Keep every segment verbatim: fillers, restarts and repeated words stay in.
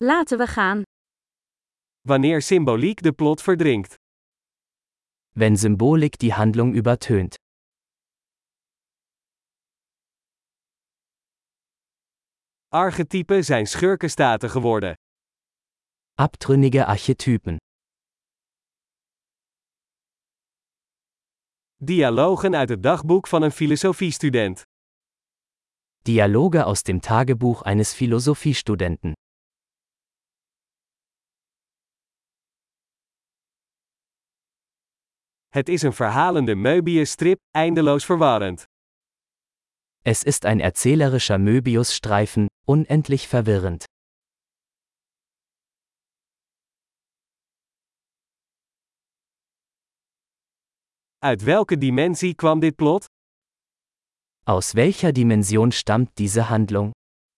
Laten we gaan. Wanneer symboliek de plot verdrinkt. Wenn Symbolik die Handlung übertönt. Archetypen zijn schurkenstaten geworden. Abtrünnige Archetypen. Dialogen uit het dagboek van een filosofiestudent. Dialoge aus dem Tagebuch eines Philosophiestudenten. Het is een verhalende Möbius-strip, eindeloos verwarrend. Es ist ein erzählerischer Möbius-Streifen, unendlich verwirrend. Uit welke dimensie kwam dit plot? Aus welcher Dimension stammt diese Handlung?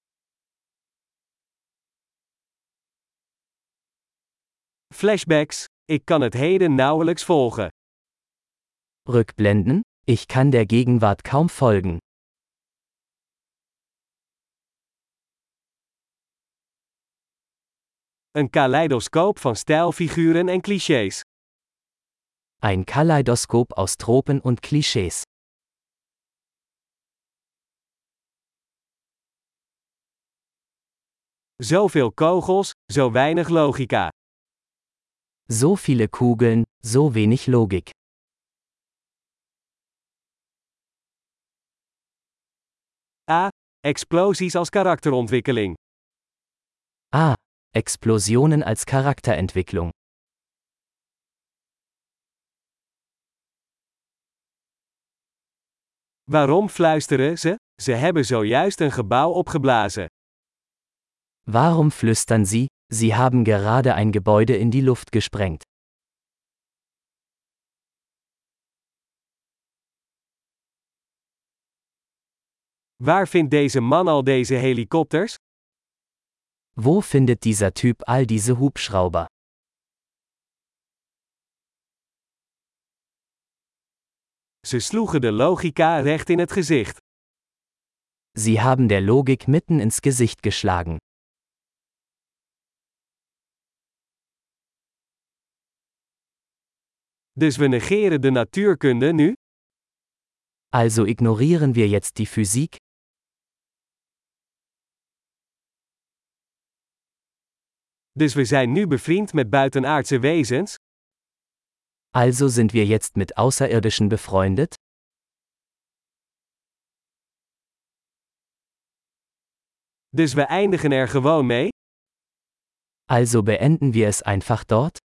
Flashbacks. Ik kan het heden nauwelijks volgen. Rückblenden? Ich kann der Gegenwart kaum folgen. Een kaleidoscoop van stijlfiguren en clichés. Ein Kaleidoskop aus Tropen und Klischees. Zoveel kogels, zo weinig logica. So viele Kugeln, so wenig Logik. A. Explosies als karakterontwikkeling. Ah, Explosionen als Charakterentwicklung. Waarom fluisteren ze? Ze hebben zojuist een gebouw opgeblazen. Warum flüstern Sie? Sie haben gerade ein Gebäude in die Luft gesprengt. Waar vindt deze man al deze helikopters? Wo findet dieser Typ all diese Hubschrauber? Ze sloegen de logica recht in het gezicht. Sie haben der Logik mitten ins Gesicht geschlagen. Dus we negeren de natuurkunde nu? Also ignorieren wir jetzt die Physik? Dus we zijn nu bevriend met buitenaardse wezens? Also sind wir jetzt mit Außerirdischen befreundet? Dus we eindigen er gewoon mee? Also beenden wir es einfach dort?